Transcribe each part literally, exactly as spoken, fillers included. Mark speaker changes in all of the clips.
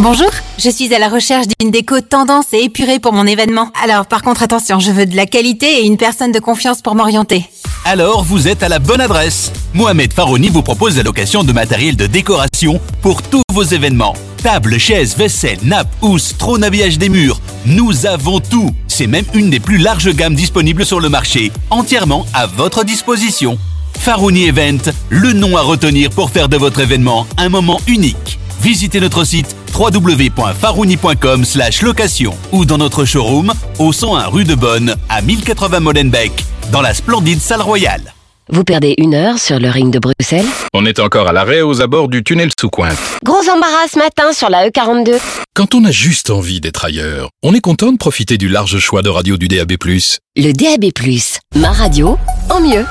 Speaker 1: Bonjour, je suis à la recherche d'une déco tendance et épurée pour mon événement. Alors par contre attention, je veux de la qualité et une personne de confiance pour m'orienter.
Speaker 2: Alors vous êtes à la bonne adresse. Mohamed Farouni vous propose la location de matériel de décoration pour tous vos événements. Tables, chaises, vaisselle, nappes, housses, trône, habillage des murs. Nous avons tout. C'est même une des plus larges gammes disponibles sur le marché, entièrement à votre disposition. Farouni Event, le nom à retenir pour faire de votre événement un moment unique. Visitez notre site w w w point farouni point com slash location ou dans notre showroom au cent un rue de Bonne à mille quatre-vingts Molenbeek dans la splendide salle royale.
Speaker 3: Vous perdez une heure sur le ring de Bruxelles?
Speaker 4: On est encore à l'arrêt aux abords du tunnel sous Cointe.
Speaker 3: Gros embarras ce matin sur la E quarante-deux.
Speaker 4: Quand on a juste envie d'être ailleurs, on est content de profiter du large choix de radio du D A B plus.
Speaker 3: Le D A B plus, ma radio en mieux.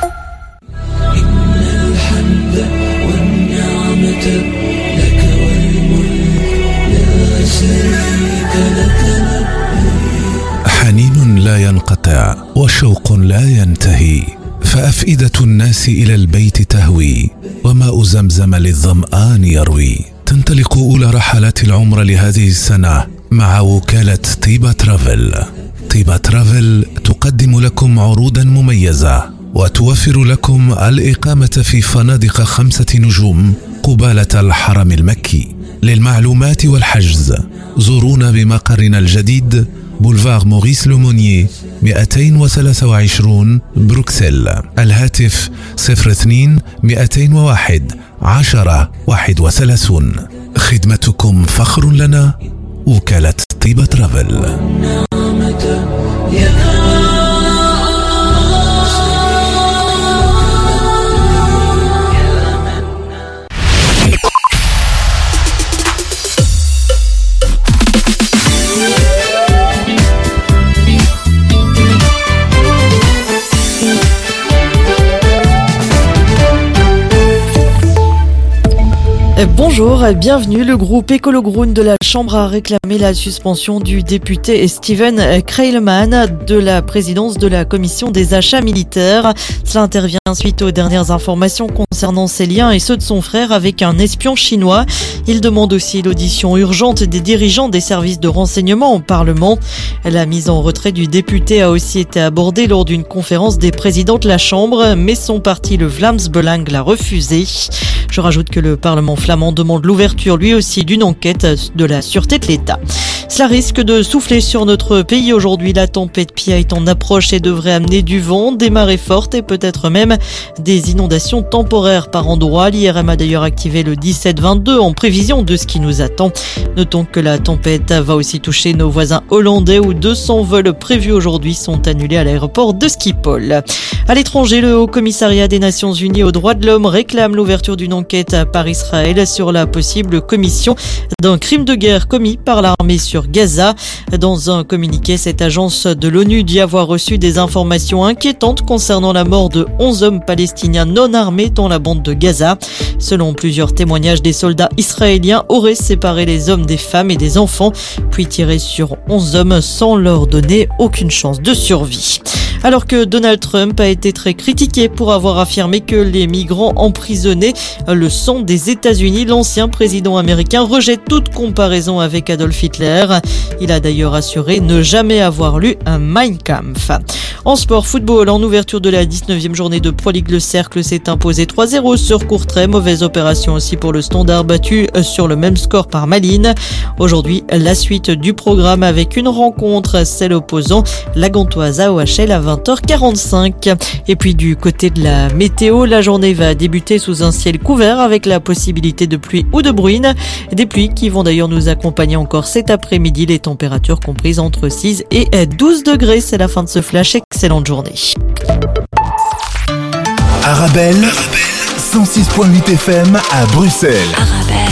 Speaker 5: حنين لا ينقطع وشوق لا ينتهي فأفئدة الناس إلى البيت تهوي وماء زمزم للظمآن يروي. تنطلق أولى رحلات العمر لهذه السنة مع وكالة طيبة ترافل. طيبة ترافل تقدم لكم عروضا مميزة وتوفر لكم الإقامة في فنادق خمسة نجوم قبالة الحرم المكي. للمعلومات والحجز زورونا بمقرنا الجديد بولفار موريس لومونيي مئتين وثلاثة وعشرين بروكسل. الهاتف صفر اثنين مئتين وواحد عشرة واحد وثلاثون. خدمتكم فخر لنا. وكالة طيبة ترافل.
Speaker 6: Bonjour, bienvenue. Le groupe Écolo-Groen de la Chambre a réclamé la suspension du député Steven Kreilman de la présidence de la commission des achats militaires. Cela intervient suite aux dernières informations concernant ses liens et ceux de son frère avec un espion chinois. Il demande aussi l'audition urgente des dirigeants des services de renseignement au Parlement. La mise en retrait du député a aussi été abordée lors d'une conférence des présidents de la Chambre, mais son parti, le Vlaams Belang, l'a refusé. Je rajoute que le Parlement flamand demande l'ouverture lui aussi d'une enquête de la sûreté de l'État. Cela risque de souffler sur notre pays aujourd'hui. La tempête Pia est en approche et devrait amener du vent, des marées fortes et peut-être même des inondations temporaires par endroits. L'I R M a d'ailleurs activé le dix-sept vingt-deux en prévision de ce qui nous attend. Notons que la tempête va aussi toucher nos voisins hollandais où deux cents vols prévus aujourd'hui sont annulés à l'aéroport de Schiphol. À l'étranger, le Haut Commissariat des Nations Unies aux droits de l'homme réclame l'ouverture d'une enquête par Israël sur la possible commission d'un crime de guerre commis par l'armée sur Gaza. Dans un communiqué, cette agence de l'ONU dit avoir reçu des informations inquiétantes concernant la mort de onze hommes palestiniens non armés dans la bande de Gaza. Selon plusieurs témoignages, des soldats israéliens auraient séparé les hommes des femmes et des enfants, puis tiré sur onze hommes sans leur donner aucune chance de survie. Alors que Donald Trump a été très critiqué pour avoir affirmé que les migrants emprisonnés le sang des États-Unis, l'ancien président américain rejette toute comparaison avec Adolf Hitler. Il a d'ailleurs assuré ne jamais avoir lu un Mein Kampf. En sport football, en ouverture de la dix-neuvième journée de Pro League, le Cercle s'est imposé trois zéro sur Courtrai. Mauvaise opération aussi pour le Standard, battu sur le même score par Malines. Aujourd'hui, la suite du programme avec une rencontre, celle opposant la Gantoise à O H L à vingt heures quarante-cinq. Et puis du côté de la météo, la journée va débuter sous un ciel couvert avec la possibilité de pluie ou de bruine. Des pluies qui vont d'ailleurs nous accompagner encore cet après-midi, les températures comprises entre six et douze degrés. C'est la fin de ce flash. Excellente journée.
Speaker 7: Arabelle, cent six point huit F M à Bruxelles.
Speaker 3: Arabelle.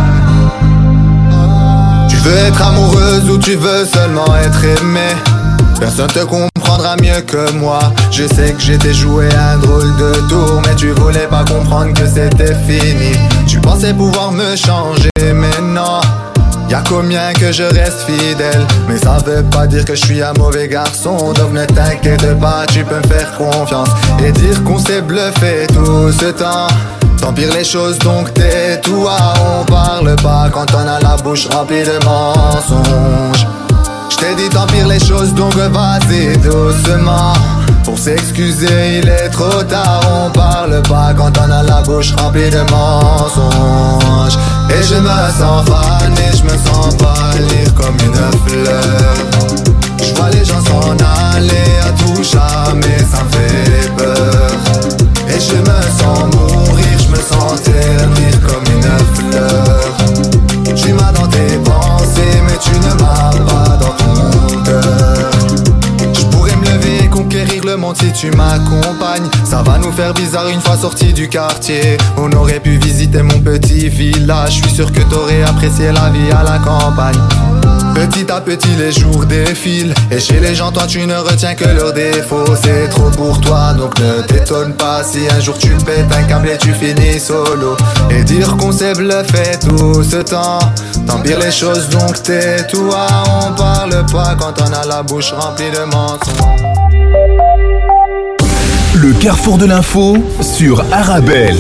Speaker 8: Tu veux être amoureuse ou tu veux seulement être aimée? Personne te comprendra mieux que moi. Je sais que j'étais joué un drôle de tour, mais tu voulais pas comprendre que c'était fini. Tu pensais pouvoir me changer, mais non. Y'a combien que je reste fidèle, mais ça veut pas dire que je suis un mauvais garçon. Donc ne t'inquiète pas, tu peux me faire confiance et dire qu'on s'est bluffé tout ce temps. T'empires les choses donc tais-toi. On parle pas quand on a la bouche remplie de mensonges. J't'ai dit t'empires les choses donc vas-y doucement. Pour s'excuser il est trop tard. On parle pas quand on a la bouche remplie de mensonges. Et je me sens fané, je me sens pâlir comme une fleur. Je vois les gens s'en aller à tout jamais, ça me fait peur. Et je me sens mourir, je me sens ternir comme une fleur. Tu m'as dans tes pensées mais tu ne m'as pas dans ton cœur. Je pourrais me lever et conquérir le monde si tu m'accompagnes. Ça va nous faire bizarre une fois sortis du quartier. On aurait pu visiter mon petit village. Je suis sûr que t'aurais apprécié la vie à la campagne. Petit à petit les jours défilent. Et chez les gens toi tu ne retiens que leurs défauts. C'est trop pour toi donc ne t'étonne pas si un jour tu pètes un câble et tu finis solo. Et dire qu'on s'est bluffé tout ce temps. T'empires les choses donc tais-toi. On parle pas quand on a la bouche remplie de mensonges.
Speaker 7: Le carrefour de l'info sur Arabelle.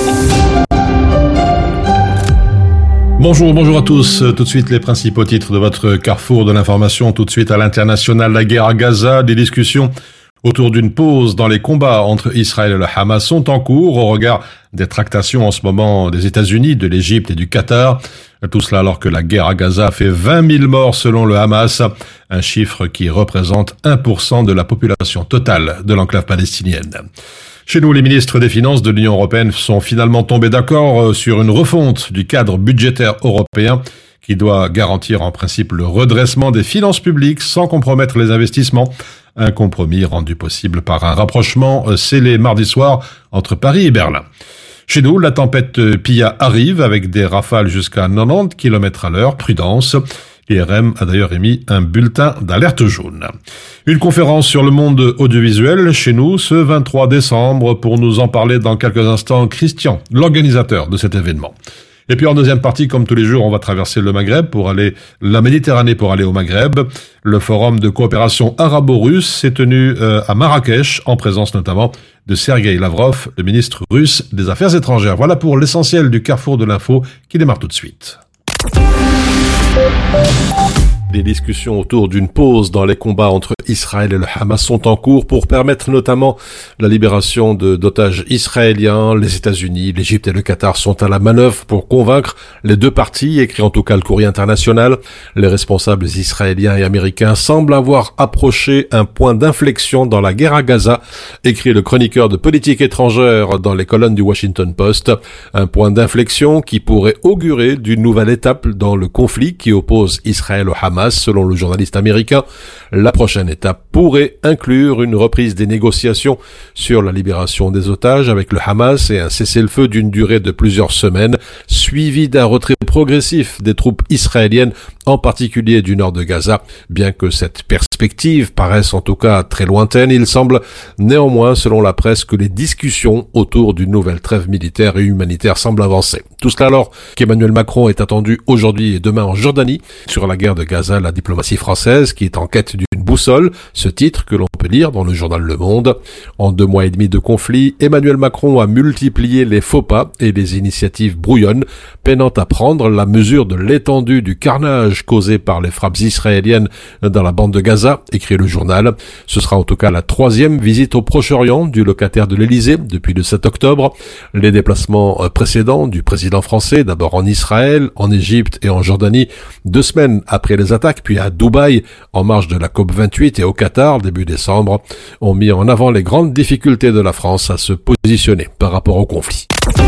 Speaker 9: Bonjour, bonjour à tous. Tout de suite les principaux titres de votre carrefour de l'information. Tout de suite à l'international, la guerre à Gaza, des discussions autour d'une pause dans les combats entre Israël et le Hamas sont en cours au regard des tractations en ce moment des États-Unis, de l'Égypte et du Qatar. Tout cela alors que la guerre à Gaza fait vingt mille morts selon le Hamas, un chiffre qui représente un pour cent de la population totale de l'enclave palestinienne. Chez nous, les ministres des Finances de l'Union européenne sont finalement tombés d'accord sur une refonte du cadre budgétaire européen qui doit garantir en principe le redressement des finances publiques sans compromettre les investissements. Un compromis rendu possible par un rapprochement scellé mardi soir entre Paris et Berlin. Chez nous, la tempête Pia arrive avec des rafales jusqu'à quatre-vingt-dix kilomètres à l'heure. Prudence. L'I R M a d'ailleurs émis un bulletin d'alerte jaune. Une conférence sur le monde audiovisuel chez nous ce vingt-trois décembre. Pour nous en parler dans quelques instants, Christian, l'organisateur de cet événement. Et puis en deuxième partie, comme tous les jours, on va traverser le Maghreb pour aller, la Méditerranée pour aller au Maghreb. Le forum de coopération arabo-russe s'est tenu euh, à Marrakech, en présence notamment de Sergueï Lavrov, le ministre russe des Affaires étrangères. Voilà pour l'essentiel du carrefour de l'info qui démarre tout de suite. Des discussions autour d'une pause dans les combats entre Israël et le Hamas sont en cours pour permettre notamment la libération de, d'otages israéliens. Les États-Unis, l'Égypte et le Qatar sont à la manœuvre pour convaincre les deux parties, écrit en tout cas le Courrier international. Les responsables israéliens et américains semblent avoir approché un point d'inflexion dans la guerre à Gaza, écrit le chroniqueur de politique étrangère dans les colonnes du Washington Post. Un point d'inflexion qui pourrait augurer d'une nouvelle étape dans le conflit qui oppose Israël au Hamas. Selon le journaliste américain, la prochaine étape pourrait inclure une reprise des négociations sur la libération des otages avec le Hamas et un cessez-le-feu d'une durée de plusieurs semaines, suivi d'un retrait progressif des troupes israéliennes, en particulier du nord de Gaza. Bien que cette perspective paraisse en tout cas très lointaine, il semble néanmoins, selon la presse, que les discussions autour d'une nouvelle trêve militaire et humanitaire semblent avancer. Tout cela alors qu'Emmanuel Macron est attendu aujourd'hui et demain en Jordanie sur la guerre de Gaza. La diplomatie française qui est en quête d'une boussole, ce titre que l'on peut lire dans le journal Le Monde. En deux mois et demi de conflit, Emmanuel Macron a multiplié les faux pas et les initiatives brouillonnes, peinant à prendre la mesure de l'étendue du carnage causé par les frappes israéliennes dans la bande de Gaza, écrit le journal. Ce sera en tout cas la troisième visite au Proche-Orient du locataire de l'Élysée depuis le sept octobre. Les déplacements précédents du président français, d'abord en Israël, en Égypte et en Jordanie, deux semaines après les attaques, puis à Dubaï, en marge de la COP vingt-huit et au Qatar, début décembre, ont mis en avant les grandes difficultés de la France à se positionner par rapport au conflit.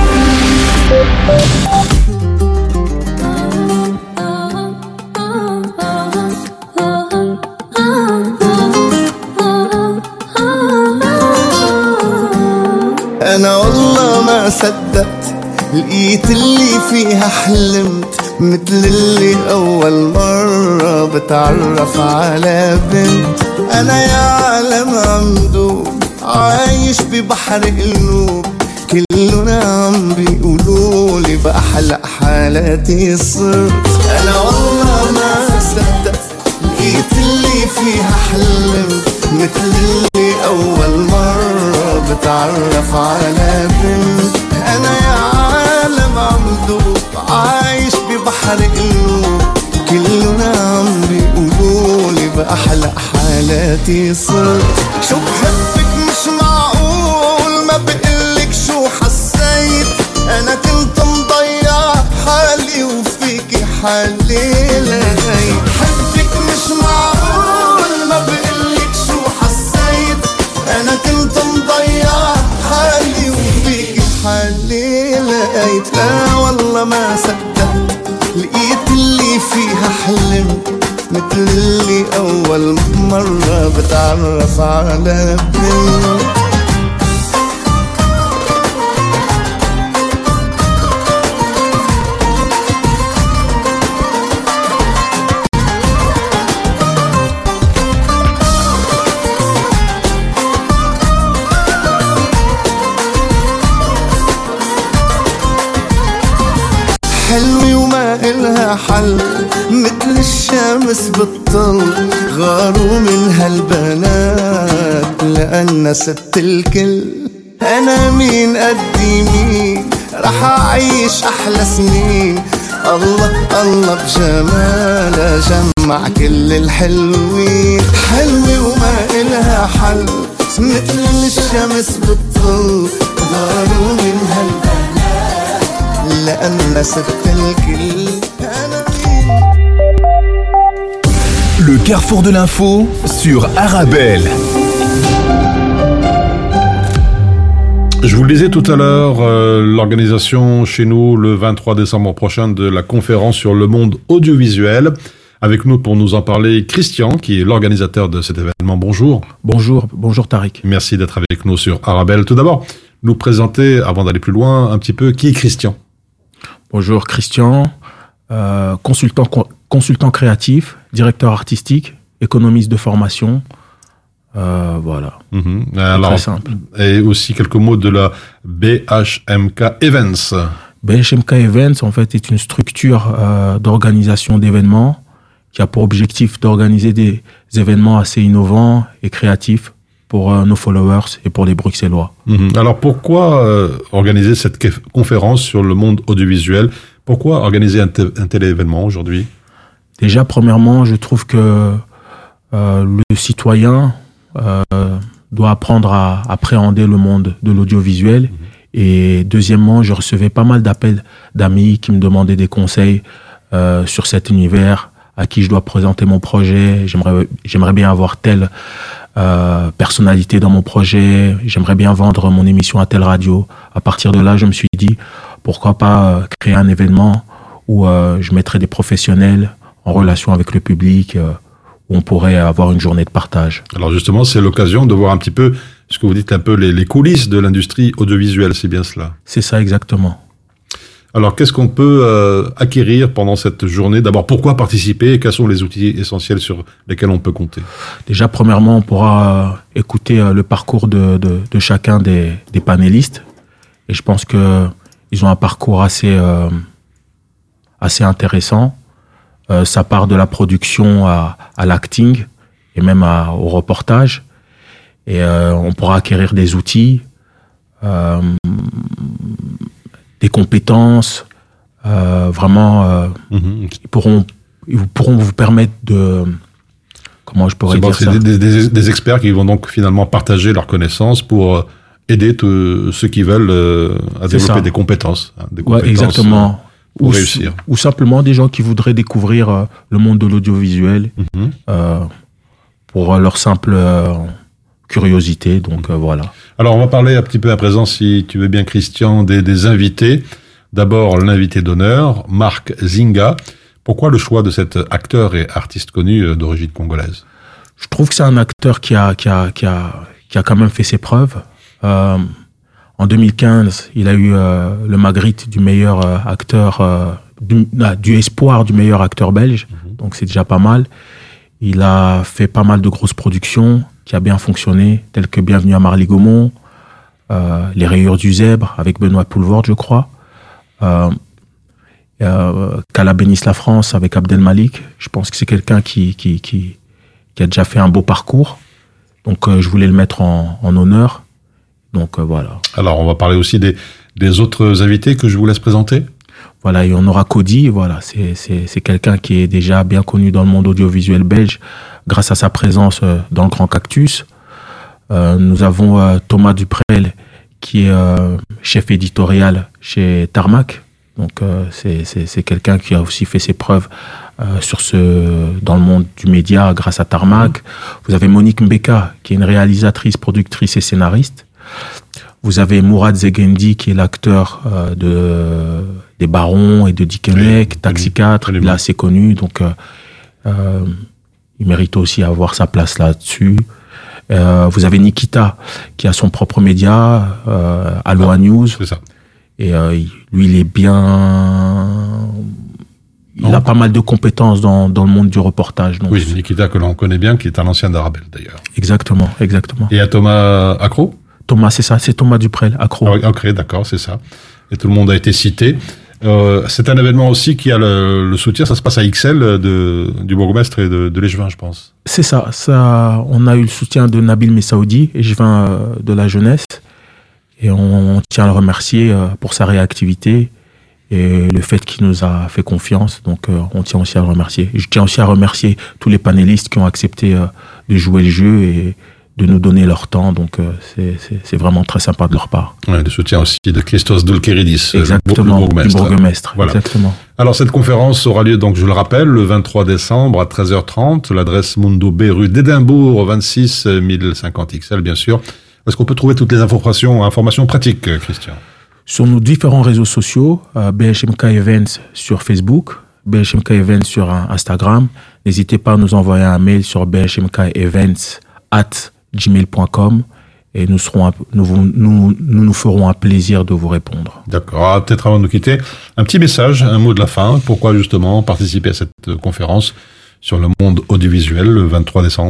Speaker 10: أنا والله ما صدقت لقيت اللي فيها حلمت مثل اللي أول مرة بتعرف على بنت أنا يا عالم عمدوب عايش ببحر قلوب كلنا عم بيقولولي بأحلى حالاتي صرت أنا والله ما صدقت لقيت اللي فيها حلمت مثل اللي أول مرة بتعرف على بنت أنا يا عالم عمدوب عايش ببحر قلوب كلنا عم بيقولولي بأحلى حالاتي صرت شو بحبك مش معقول ما بقلك شو حسيت أنا كنت مضيع حالي وفيكي حالي لغيت بحبك مش معقول ما بقلك شو حسيت أنا كنت مضيع حالي وفيكي حالي لقيت لا والله ما صدقت لقيت اللي فيها حلمت مثل اللي أول مرة بتعرف على بنت حلوة وما إلها حل مثل الشمس بالطل غاروا من هالبنات لأن ست الكل أنا مين قدي مين رح أعيش أحلى سنين الله الله بجمالها جمع كل الحلوين حلوة وما إلها حل مثل الشمس بالطل غاروا من هالبنات
Speaker 7: Le carrefour de l'info sur Arabelle.
Speaker 9: Je vous le disais tout à l'heure, euh, l'organisation chez nous le vingt-trois décembre prochain de la conférence sur le monde audiovisuel. Avec nous pour nous en parler, Christian, qui est l'organisateur de cet événement. Bonjour.
Speaker 11: Bonjour, bonjour Tariq.
Speaker 9: Merci d'être avec nous sur Arabelle. Tout d'abord, nous présenter, avant d'aller plus loin, un petit peu qui est Christian.
Speaker 11: Bonjour Christian, euh, consultant, consultant créatif, directeur artistique, économiste de formation, euh, voilà.
Speaker 9: Mmh. Alors,
Speaker 11: très simple.
Speaker 9: Et aussi quelques mots de la B H M K Events.
Speaker 11: B H M K Events, en fait, est une structure euh, d'organisation d'événements qui a pour objectif d'organiser des événements assez innovants et créatifs pour euh, nos followers et pour les Bruxellois.
Speaker 9: Mmh. Alors pourquoi euh, organiser cette conférence sur le monde audiovisuel? Pourquoi organiser un, un tel événement aujourd'hui?
Speaker 11: Déjà, premièrement, je trouve que euh, le citoyen euh, doit apprendre à appréhender le monde de l'audiovisuel. Mmh. Et deuxièmement, je recevais pas mal d'appels d'amis qui me demandaient des conseils euh, sur cet univers, à qui je dois présenter mon projet. J'aimerais, j'aimerais bien avoir tel Euh, personnalité dans mon projet, j'aimerais bien vendre mon émission à telle radio. À partir de là, je me suis dit, pourquoi pas euh, créer un événement où euh, je mettrais des professionnels en relation avec le public, euh, où on pourrait avoir une journée de partage.
Speaker 9: Alors justement, c'est l'occasion de voir un petit peu ce que vous dites, un peu les, les coulisses de l'industrie audiovisuelle, c'est bien cela?
Speaker 11: C'est ça, exactement.
Speaker 9: Alors, qu'est-ce qu'on peut euh, acquérir pendant cette journée? D'abord, pourquoi participer et quels sont les outils essentiels sur lesquels on peut compter?
Speaker 11: Déjà, premièrement, on pourra euh, écouter euh, le parcours de, de, de chacun des, des panélistes. Et je pense que ils ont un parcours assez, euh, assez intéressant. Euh, ça part de la production à, à l'acting et même à, au reportage. Et euh, on pourra acquérir des outils, euh, des compétences, euh, vraiment, euh, mmh. qui pourront, ils pourront vous permettre de, comment je pourrais
Speaker 9: c'est
Speaker 11: dire
Speaker 9: bon,
Speaker 11: ça?
Speaker 9: C'est des, des, des experts qui vont donc finalement partager leurs connaissances pour aider tous ceux qui veulent euh, à c'est développer ça. des compétences, hein, des compétences
Speaker 11: ouais, exactement.
Speaker 9: Euh, pour
Speaker 11: ou,
Speaker 9: réussir.
Speaker 11: Ou simplement des gens qui voudraient découvrir euh, le monde de l'audiovisuel mmh. euh, pour leur simple euh, curiosité. Donc mmh. euh, voilà.
Speaker 9: Alors, on va parler un petit peu à présent, si tu veux bien, Christian, des, des invités. D'abord, l'invité d'honneur, Marc Zinga. Pourquoi le choix de cet acteur et artiste connu d'origine congolaise?
Speaker 11: Je trouve que c'est un acteur qui a, qui a, qui a, qui a quand même fait ses preuves. Euh, en deux mille quinze, il a eu euh, le Magritte du meilleur euh, acteur, euh, du, ah, du espoir du meilleur acteur belge. Mmh. Donc, c'est déjà pas mal. Il a fait pas mal de grosses productions qui a bien fonctionné, telles que Bienvenue à Marly-Gaumont, euh, Les Rayures du Zèbre avec Benoît Poulvord, je crois. Euh, euh, Qu'Allah bénisse la France avec Abdel Malik. Je pense que c'est quelqu'un qui, qui, qui, qui a déjà fait un beau parcours. Donc, euh, je voulais le mettre en, en honneur. Donc, euh, voilà.
Speaker 12: Alors, on va parler aussi des, des autres invités que je vous laisse présenter.
Speaker 11: Voilà, et on aura Cody. Voilà, c'est, c'est, c'est quelqu'un qui est déjà bien connu dans le monde audiovisuel belge grâce à sa présence euh, dans le Grand Cactus. Euh, nous avons euh, Thomas Duprel, qui est euh, chef éditorial chez Tarmac. Donc, euh, c'est, c'est, c'est quelqu'un qui a aussi fait ses preuves euh, sur ce, dans le monde du média grâce à Tarmac. Vous avez Monique Mbeka, qui est une réalisatrice, productrice et scénariste. Vous avez Mourad Zegendi, qui est l'acteur euh, de, des Barons et de Dickeneck, oui, Taxi quatre, il est assez connu. Donc, euh, euh, il mérite aussi avoir sa place là-dessus. Euh, vous avez Nikita, qui a son propre média, euh, Aloha ah, News.
Speaker 12: C'est ça.
Speaker 11: Et euh, lui, il est bien... Il non. a pas mal de compétences dans, dans le monde du reportage. Donc
Speaker 12: oui, Nikita, que l'on connaît bien, qui est un ancien d'Arabelle, d'ailleurs.
Speaker 11: Exactement, exactement.
Speaker 12: Et à Thomas Accro ?
Speaker 11: Thomas, c'est ça, c'est Thomas Duprel, Accro.
Speaker 12: Ah, ok, d'accord, c'est ça. Et tout le monde a été cité. Euh, c'est un événement aussi qui a le, le soutien, ça se passe à X L de, du bourgmestre et de, de l'Échevin, je pense.
Speaker 11: C'est ça, ça, on a eu le soutien de Nabil Messaoudi, Échevin euh, de la jeunesse, et on, on tient à le remercier euh, pour sa réactivité et le fait qu'il nous a fait confiance, donc euh, on tient aussi à le remercier. Et je tiens aussi à remercier tous les panélistes qui ont accepté euh, de jouer le jeu et de nous donner leur temps, donc euh, c'est, c'est, c'est vraiment très sympa de leur part.
Speaker 12: Ouais, le soutien aussi de Christos Doulkeridis,
Speaker 11: exactement,
Speaker 12: le bourgmestre.
Speaker 11: Du bourgmestre,
Speaker 12: voilà.
Speaker 11: Exactement.
Speaker 12: Alors cette conférence aura lieu, donc je le rappelle, le vingt-trois décembre à treize heures trente, l'adresse Mundo B, rue d'Édimbourg, vingt-six mille cinquante X L, bien sûr. Est-ce qu'on peut trouver toutes les informations, informations pratiques, Christian ?
Speaker 11: Sur nos différents réseaux sociaux, euh, B H M K Events sur Facebook, B H M K Events sur Instagram. N'hésitez pas à nous envoyer un mail sur b h m k events arobase gmail point com et nous serons, nous, nous, nous nous ferons un plaisir de vous répondre.
Speaker 12: D'accord. Ah, peut-être avant de nous quitter, un petit message, un mot de la fin. Pourquoi justement participer à cette conférence sur le monde audiovisuel le vingt-trois décembre ?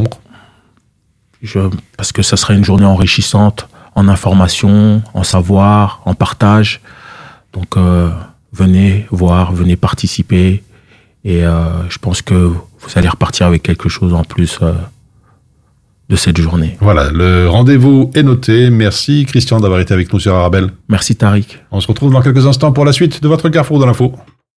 Speaker 11: Je, parce que ça sera une journée enrichissante en information, en savoir, en partage. Donc euh, venez voir, venez participer et euh, je pense que vous allez repartir avec quelque chose en plus euh, de cette journée.
Speaker 12: Voilà, le rendez-vous est noté. Merci Christian d'avoir été avec nous sur Arabelle.
Speaker 11: Merci Tariq.
Speaker 12: On se retrouve dans quelques instants pour la suite de votre Carrefour de l'info.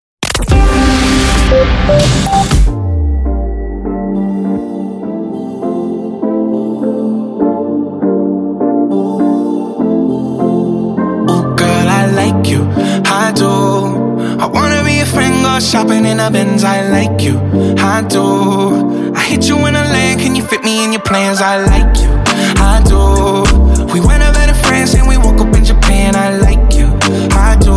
Speaker 13: Shopping in a Benz, I like you, I do. I hit you in a lane, can you fit me in your plans? I like you, I do. We went over to France and we woke up in Japan, I like you, I do.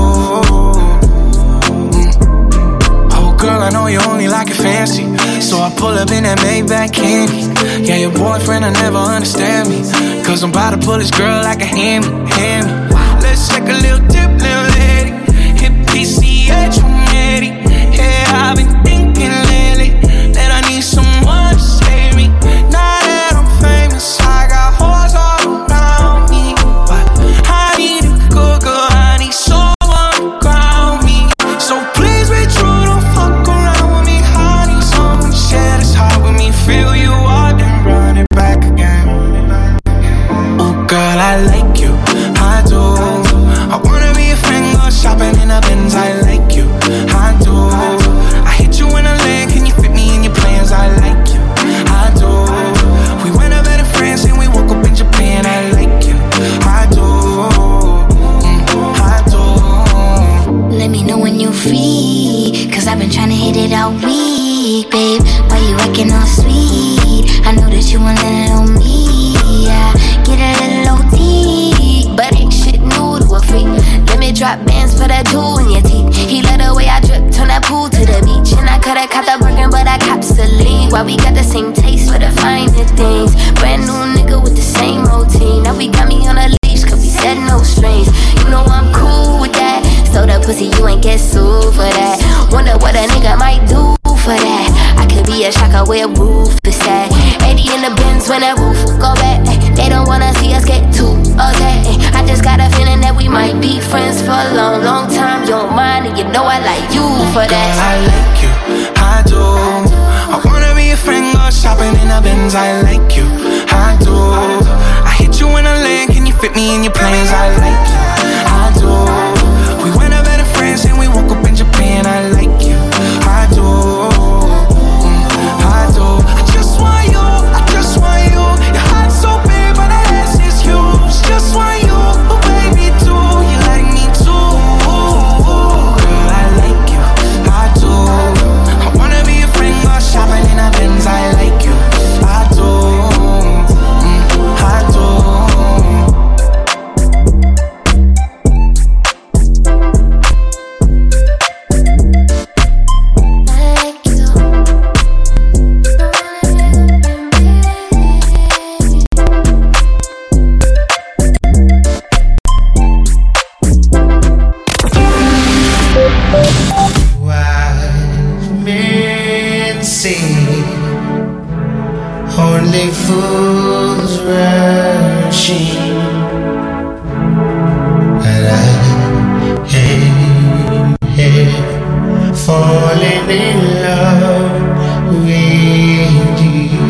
Speaker 13: Mm. Oh girl, I know you only like it fancy, so I pull up in that Maybach candy. Yeah, your boyfriend will never understand me, cause I'm about to pull this girl like a hammy, hammy. Let's take a little dip, little lady, hit P C H, I'm ready. Yeah, I've been thinking lately that I need someone to save me. Now that I'm famous, I got hoes all around me, but I need a good girl, I need someone to ground me. So please be true, don't fuck around with me. I need someone to share this heart with me. Feel you out and run it back again. Oh girl, I like you, I do. I wanna be a friend, go shopping in a Benz, I like you, I do. I hit you in a lane, can you fit me in your plans? I like you, I do. We went over to France and we woke up in Japan, I like you, I do, mm, I do.
Speaker 14: Let me know when you're free, cause I've been trying to hit it all week, babe. Why you acting all sweet? I know that you want a little me, yeah. Get a little O T, but ain't shit new to a freak. Let me drop bands for that jewel in your teeth. He let the way I drip, turn that pool to the beach. And I coulda caught the Birkin, but I cops the lead. Why we got the same taste for the finer things? Brand new nigga with the same routine. Now we got me on a leash, cause we said no strings. You know I'm cool with that. So the pussy, you ain't get sued for that. Wonder what a nigga might do for that. I could be a shocker where roof is when that roof go back. They don't wanna see us get too upset. I just got a feeling that we might be friends for a long, long time. You don't mind, and you know I like you for that.
Speaker 13: Girl, I like you, I do. I wanna be a friend, go shopping in the Benz. I like you, I do. I hit you in a land, can you fit me in your plans? I like you, I do. We went up better friends and we woke up in Japan. I like you, I do. I do. I just want you, I just want you. Your heart's so big, but that ass is huge. Just want you, but baby too. You like me too. Girl, I like you, I do. I wanna be a friend, go shopping in a Benz. I like you, I do. Mm, I do.
Speaker 10: Only fools rushing, and I hey, hey, falling in love with you.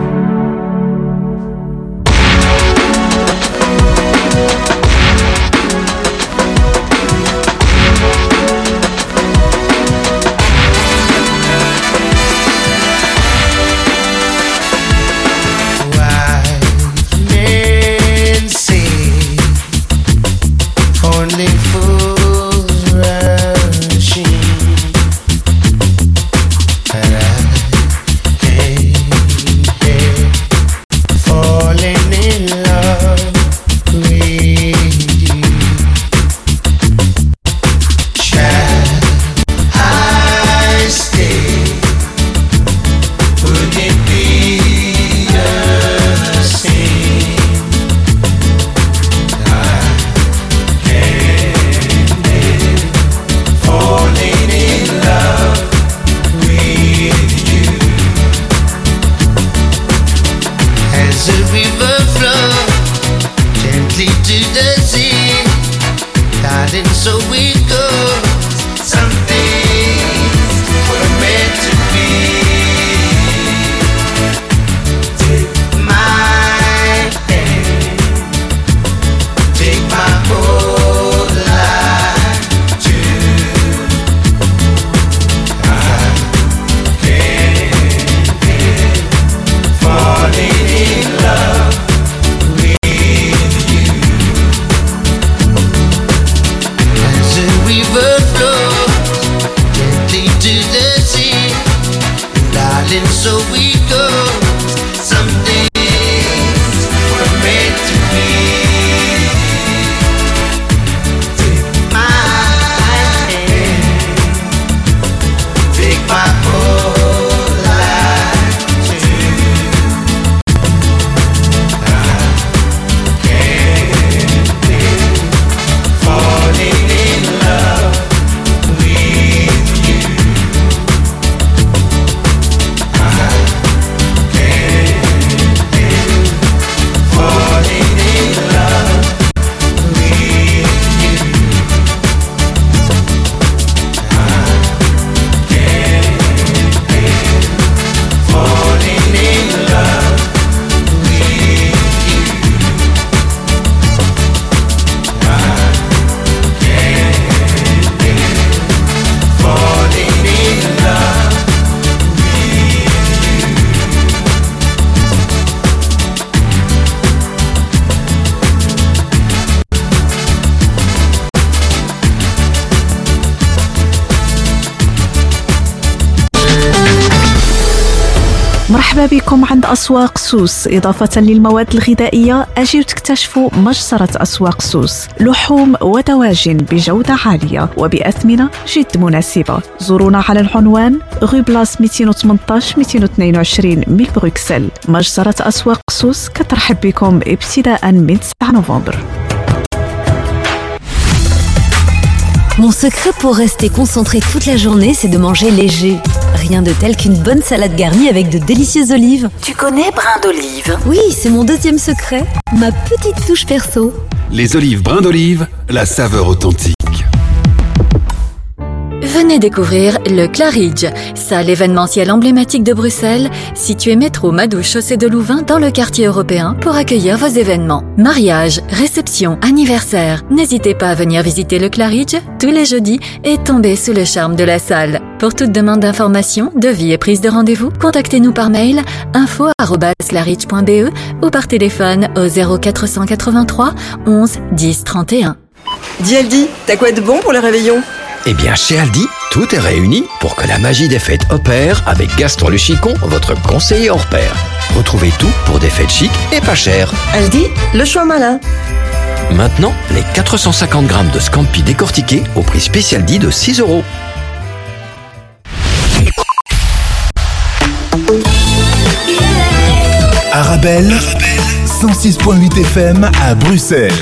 Speaker 15: مرحبا بكم عند أسواق سوس. إضافة للمواد الغذائية أجيو تكتشفوا مجزرة أسواق سوس، لحوم ودواجن بجودة عالية وبأثمنة جد مناسبة. زورونا على العنوان غو بلاس مئتين وثمانية عشر مئتين واثنين وعشرين من بروكسل. مجزرة أسواق سوس كترحب بكم ابتداء من تسعة نوفمبر.
Speaker 16: Mon secret pour rester concentré toute la journée, c'est de manger léger. Rien de tel qu'une bonne salade garnie avec de délicieuses olives.
Speaker 17: Tu connais brin d'olive?
Speaker 16: Oui, c'est mon deuxième secret, ma petite touche perso.
Speaker 18: Les olives brin d'olive, la saveur authentique.
Speaker 19: Venez découvrir le Claridge, salle événementielle emblématique de Bruxelles, située métro Madouche chaussée de Louvain dans le quartier européen pour accueillir vos événements. Mariage, réception, anniversaire. N'hésitez pas à venir visiter le Claridge tous les jeudis et tomber sous le charme de la salle. Pour toute demande d'information, devis et prise de rendez-vous, contactez-nous par mail info arobase claridge point b e ou par téléphone au zéro quatre cent quatre-vingt-trois onze dix trente et un.
Speaker 20: Dis Aldi, t'as quoi de bon pour le réveillon?
Speaker 21: Eh bien, chez Aldi, tout est réuni pour que la magie des fêtes opère avec Gaston Le Chicon, votre conseiller hors pair. Retrouvez tout pour des fêtes chic et pas chères.
Speaker 20: Aldi, le choix malin.
Speaker 21: Maintenant, les quatre cent cinquante grammes de Scampi décortiqués au prix spécial dit de six euros.
Speaker 7: Arabelle, cent six point huit F M à Bruxelles.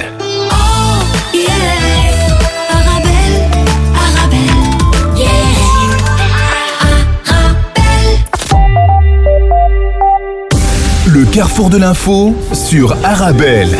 Speaker 7: Le carrefour de l'info sur Arabelle.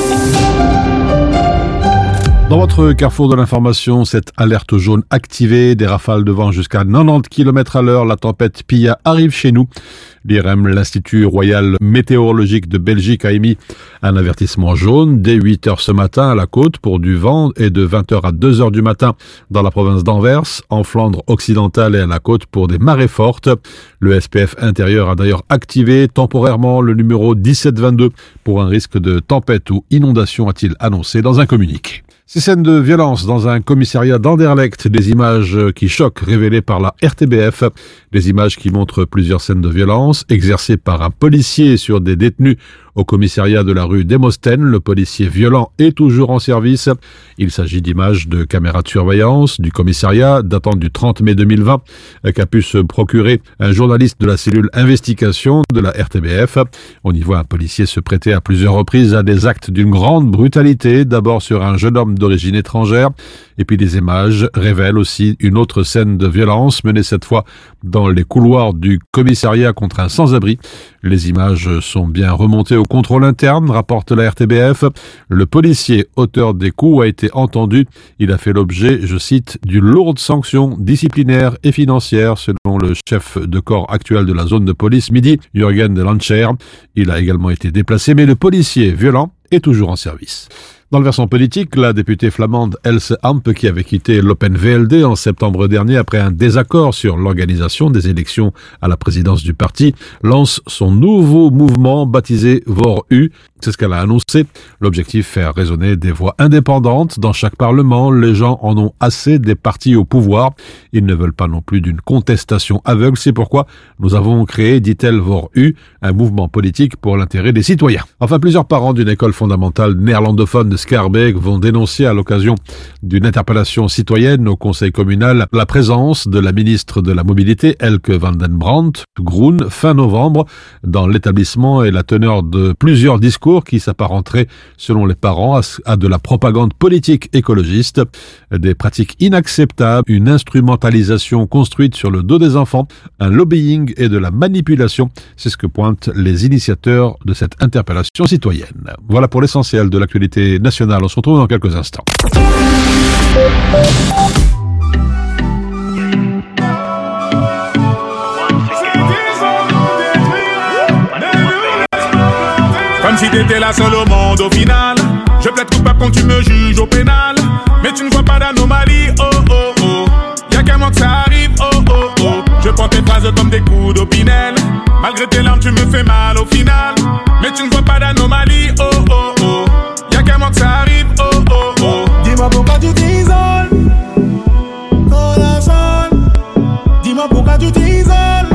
Speaker 12: Dans votre carrefour de l'information, cette alerte jaune activée, des rafales de vent jusqu'à quatre-vingt-dix kilomètres à l'heure, la tempête Pia arrive chez nous. L'I R M, l'Institut Royal Météorologique de Belgique, a émis un avertissement jaune dès huit heures ce matin à la côte pour du vent et de vingt heures à deux heures du matin dans la province d'Anvers, en Flandre occidentale et à la côte pour des marées fortes. Le S P F intérieur a d'ailleurs activé temporairement le numéro dix-sept vingt-deux pour un risque de tempête ou inondation, a-t-il annoncé dans un communiqué. Ces scènes de violence dans un commissariat d'Anderlecht, des images qui choquent révélées par la R T B F, des images qui montrent plusieurs scènes de violence exercées par un policier sur des détenus au commissariat de la rue Demosthène. Le policier violent est toujours en service. Il s'agit d'images de caméras de surveillance du commissariat datant du trente mai deux mille vingt qu'a pu se procurer un journaliste de la cellule investigation de la R T B F. On y voit un policier se prêter à plusieurs reprises à des actes d'une grande brutalité, d'abord sur un jeune homme d'origine étrangère, et puis les images révèlent aussi une autre scène de violence menée cette fois dans les couloirs du commissariat contre un sans-abri. Les images sont bien remontées au contrôle interne, rapporte la R T B F. Le policier auteur des coups a été entendu. Il a fait l'objet, je cite, d'une lourde sanction disciplinaire et financière, selon le chef de corps actuel de la zone de police Midi, Jürgen de Lancher. Il a également été déplacé, mais le policier violent est toujours en service. Dans le versant politique, la députée flamande Else Ampe, qui avait quitté l'Open V L D en septembre dernier après un désaccord sur l'organisation des élections à la présidence du parti, lance son nouveau mouvement baptisé VOR-U. C'est ce qu'elle a annoncé. L'objectif, faire résonner des voix indépendantes dans chaque parlement. Les gens en ont assez des partis au pouvoir. Ils ne veulent pas non plus d'une contestation aveugle. C'est pourquoi nous avons créé, dit-elle, VOR-U, un mouvement politique pour l'intérêt des citoyens. Enfin, plusieurs parents d'une école fondamentale néerlandophone de Schaerbeek vont dénoncer à l'occasion d'une interpellation citoyenne au conseil communal la présence de la ministre de la Mobilité, Elke van den Brandt, Groen, fin novembre, dans l'établissement et la teneur de plusieurs discours qui s'apparenteraient, selon les parents, à de la propagande politique écologiste, des pratiques inacceptables, une instrumentalisation construite sur le dos des enfants, un lobbying et de la manipulation. C'est ce que pointent les initiateurs de cette interpellation citoyenne. Voilà pour l'essentiel de l'actualité nationale. On se retrouve dans quelques instants.
Speaker 22: Comme si t'étais la seule au monde au final. Je plaide coupable quand tu me juges au pénal. Mais tu ne vois pas d'anomalie, oh oh oh. Y'a qu'un mois que ça arrive, oh oh oh. Je prends tes phrases comme des coups d'opinel. Malgré tes larmes tu me fais mal au final. Mais tu ne vois pas d'anomalie, oh oh oh. Y'a qu'un mois que ça arrive, oh oh oh. Dis-moi pourquoi tu t'isoles, corazon. Dis-moi pourquoi tu t'isoles.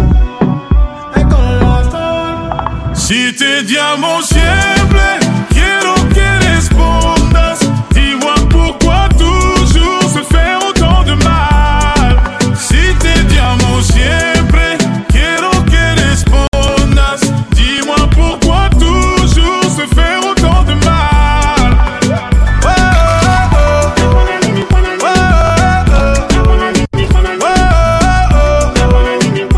Speaker 22: Si te llamo siempre, quiero que respondas. Dis-moi pourquoi toujours se faire autant de mal. Si te llamo siempre, quiero que respondas. Dis-moi pourquoi toujours se faire autant de mal. Oh, oh, oh. Oh, oh, oh. Oh, oh, oh.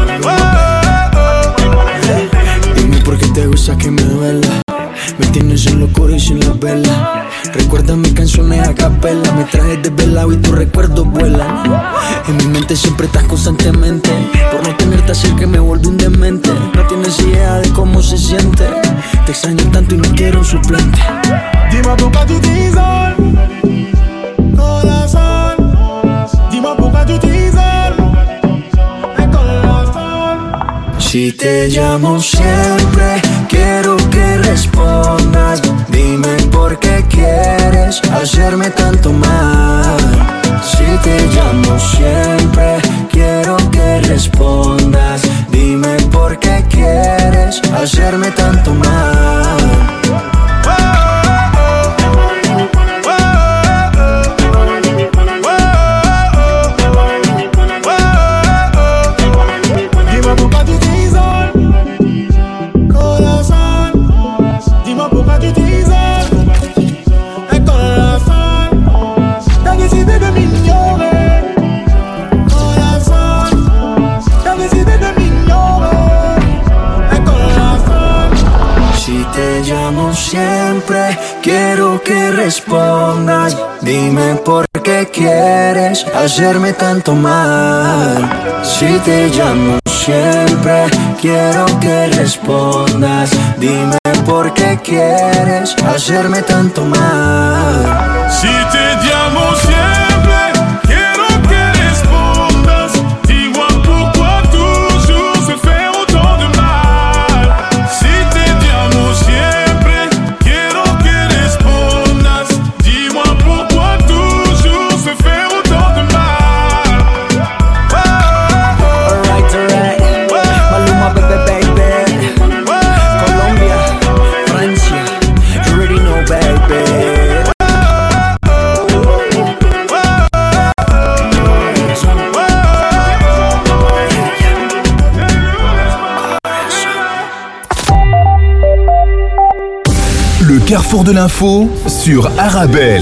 Speaker 1: novela. Me tienes en locura y sin la vela. Recuerda mis canciones a capela. Me trajes desvelado y tus recuerdos vuelan. En mi mente siempre estás constantemente. Por no tenerte cerca me volví un demente. No tienes idea de cómo se siente. Te extraño tanto y no quiero un suplente.
Speaker 22: Dis-moi pourquoi tu t'isoles, corazón. Dis-moi pourquoi tu t'isoles, corazón.
Speaker 1: Si te llamo siempre, quiero que respondas. Dime por qué quieres hacerme tanto mal. Si te llamo siempre, quiero que respondas. Dime por qué quieres hacerme tanto mal. Siempre quiero que respondas. Dime por qué quieres hacerme tanto mal. Si te llamo siempre, quiero que respondas. Dime por qué quieres hacerme tanto mal.
Speaker 22: Si te llamo siempre, quiero que respondas. Dis-moi pourquoi toujours se fait autant de mal. Si te llamo siempre,
Speaker 7: Le carrefour de l'info sur Arabelle.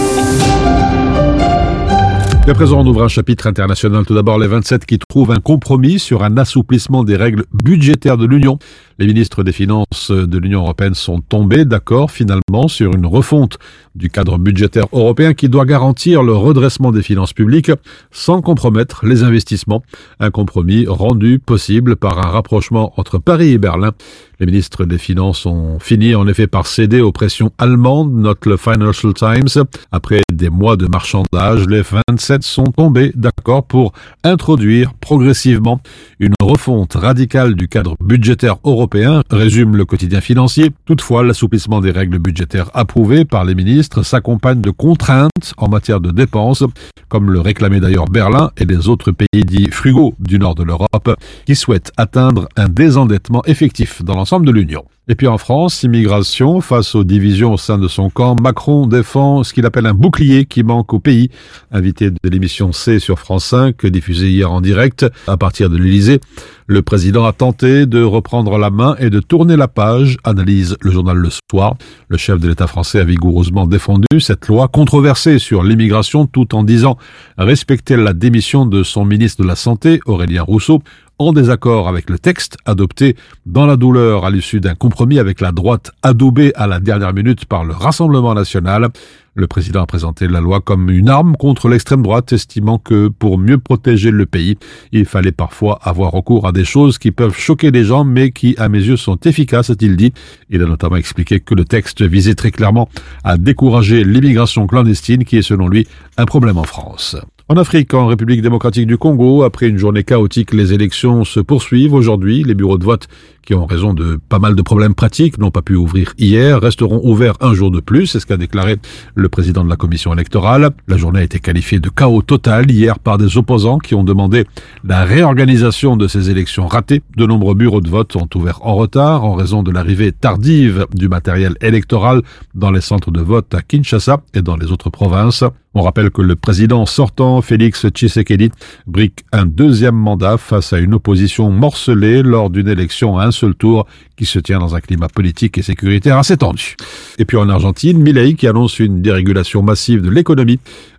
Speaker 12: Et à présent, on ouvre un chapitre international. Tout d'abord, les vingt-sept qui trouvent un compromis sur un assouplissement des règles budgétaires de l'Union. Les ministres des Finances de l'Union européenne sont tombés d'accord finalement sur une refonte du cadre budgétaire européen qui doit garantir le redressement des finances publiques sans compromettre les investissements. Un compromis rendu possible par un rapprochement entre Paris et Berlin. Les ministres des Finances ont fini en effet par céder aux pressions allemandes, note le Financial Times. Après des mois de marchandage, les vingt-sept sont tombés d'accord pour introduire progressivement une refonte radicale du cadre budgétaire européen, résume le quotidien financier. Toutefois, l'assouplissement des règles budgétaires approuvées par les ministres s'accompagne de contraintes en matière de dépenses, comme le réclamaient d'ailleurs Berlin et les autres pays dits frugaux du nord de l'Europe, qui souhaitent atteindre un désendettement effectif dans l'ensemble de l'Union. Et puis en France, immigration, face aux divisions au sein de son camp, Macron défend ce qu'il appelle un bouclier qui manque au pays. Invité de l'émission C sur France cinq, diffusée hier en direct à partir de l'Élysée, le président a tenté de reprendre la main et de tourner la page, analyse le journal Le Soir. Le chef de l'État français a vigoureusement défendu cette loi controversée sur l'immigration tout en disant respecter la démission de son ministre de la Santé, Aurélien Rousseau, en désaccord avec le texte adopté dans la douleur à l'issue d'un compromis avec la droite adoubée à la dernière minute par le Rassemblement national. Le président a présenté la loi comme une arme contre l'extrême droite, estimant que pour mieux protéger le pays, il fallait parfois avoir recours à des choses qui peuvent choquer les gens, mais qui, à mes yeux, sont efficaces, a-t-il dit. Il a notamment expliqué que le texte visait très clairement à décourager l'immigration clandestine, qui est selon lui un problème en France. En Afrique, en République démocratique du Congo, après une journée chaotique, les élections se poursuivent aujourd'hui. Les bureaux de vote, qui ont raison de pas mal de problèmes pratiques, n'ont pas pu ouvrir hier, resteront ouverts un jour de plus, c'est ce qu'a déclaré le président de la commission électorale. La journée a été qualifiée de chaos total hier par des opposants qui ont demandé la réorganisation de ces élections ratées. De nombreux bureaux de vote ont ouvert en retard en raison de l'arrivée tardive du matériel électoral dans les centres de vote à Kinshasa et dans les autres provinces. On rappelle que le président sortant, Félix Tshisekedi, brique un deuxième mandat face à une opposition morcelée lors d'une élection à un seul tour qui se tient dans un climat politique et sécuritaire assez tendu. Et puis en Argentine, Milei, qui annonce une dérégulation massive de l'économie,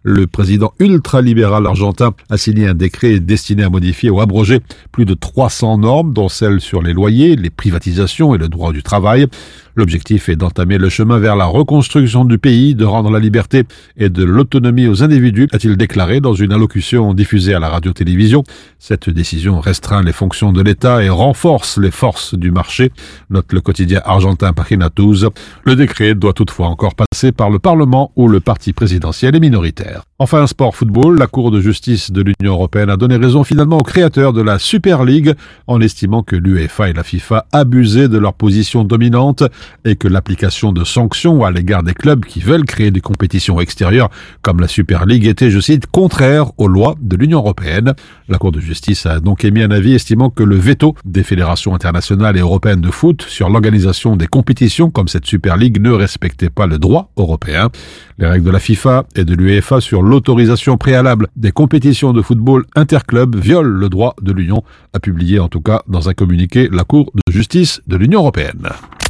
Speaker 12: Le président ultralibéral argentin a signé un décret destiné à modifier ou abroger plus de trois cents normes, dont celles sur les loyers, les privatisations et le droit du travail. L'objectif est d'entamer le chemin vers la reconstruction du pays, de rendre la liberté et de l'autonomie aux individus, a-t-il déclaré dans une allocution diffusée à la radio-télévision. Cette décision restreint les fonctions de l'État et renforce les forces du marché, note le quotidien argentin Página douze. Le décret doit toutefois encore passer par le Parlement où le parti présidentiel est minoritaire. Enfin, sport football, la Cour de justice de l'Union européenne a donné raison finalement aux créateurs de la Super League en estimant que l'UEFA et la FIFA abusaient de leur position dominante et que l'application de sanctions à l'égard des clubs qui veulent créer des compétitions extérieures comme la Super League était, je cite, contraire aux lois de l'Union européenne. La Cour de justice a donc émis un avis estimant que le veto des fédérations internationales et européennes de foot sur l'organisation des compétitions comme cette Super League ne respectait pas le droit européen. Les règles de la FIFA et de l'UEFA sur l'autorisation préalable des compétitions de football interclubs violent le droit de l'Union, a publié en tout cas dans un communiqué la Cour de justice de l'Union européenne.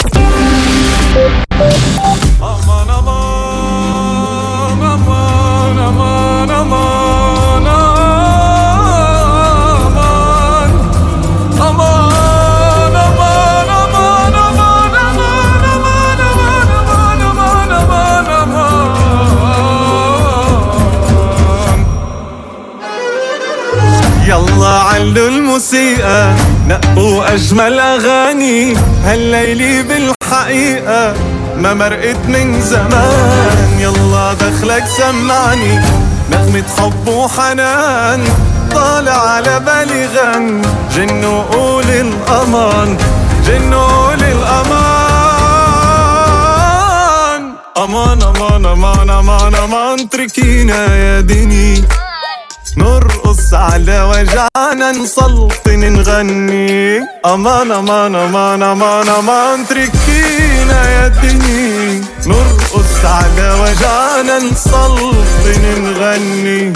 Speaker 2: يلا علوا الموسيقى نقوا أجمل أغاني هالليلي بالحقيقة ما مرقت من زمان. يلا دخلك سمعني نغمة حب وحنان طالع على بالي غن جنوا قول الأمان جنوا قول الأمان أمان أمان أمان أمان أمان تركينا يا دني نرقص على وجعنا نسلطن نغني أمان أمان أمان أمان أمان تركينا يا دني نرقص على وجعنا نسلطن نغني.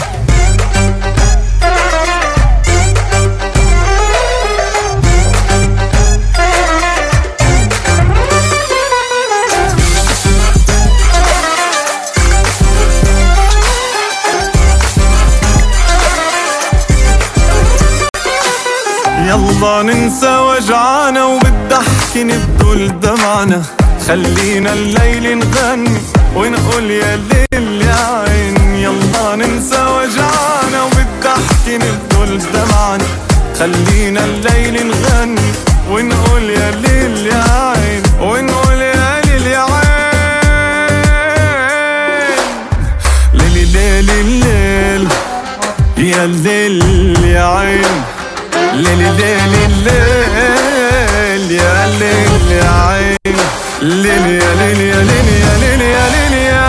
Speaker 2: يلا ننسى وجعنا وبالضحك نبدل دمعنا خلينا الليل نغني ونقول يا ليل يا عين. يلا ننسى وجعنا وبالضحك نبدل دمعنا خلينا الليل نغني ونقول يا ليل يا عين ونقول يا ليل يا عين. ليلي ليلي الليل يا ليل يا عين ليلي ليلي الليل يا ليل يا عين ليلي يا ليلي يا ليلي يا ليلي يا ليلي يا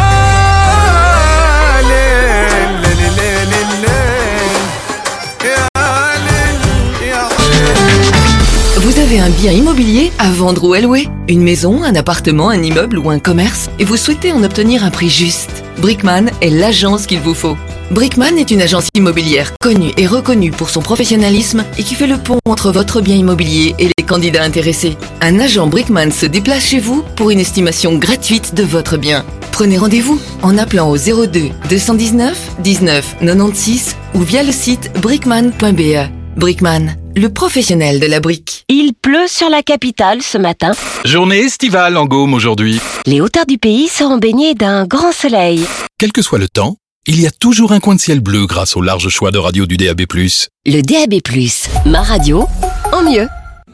Speaker 2: ليل ليلي ليلي الليل يا ليل يا عين.
Speaker 4: Vous avez un bien immobilier à vendre ou à louer? Une maison, un appartement, un immeuble ou un commerce? Et vous souhaitez en obtenir un prix juste? Brickman est l'agence qu'il vous faut. Brickman est une agence immobilière connue et reconnue pour son professionnalisme et qui fait le pont entre votre bien immobilier et les candidats intéressés. Un agent Brickman se déplace chez vous pour une estimation gratuite de votre bien. Prenez rendez-vous en appelant au zéro deux deux cent dix-neuf dix-neuf quatre-vingt-seize ou via le site brickman point b e. Brickman, le professionnel de la brique.
Speaker 3: Il pleut sur la capitale ce matin.
Speaker 23: Journée estivale en Gaume aujourd'hui.
Speaker 3: Les hauteurs du pays seront baignées d'un grand soleil.
Speaker 23: Quel que soit le temps, il y a toujours un coin de ciel bleu grâce au large choix de radio du D A B plus.
Speaker 3: Le D A B plus, ma radio, en mieux.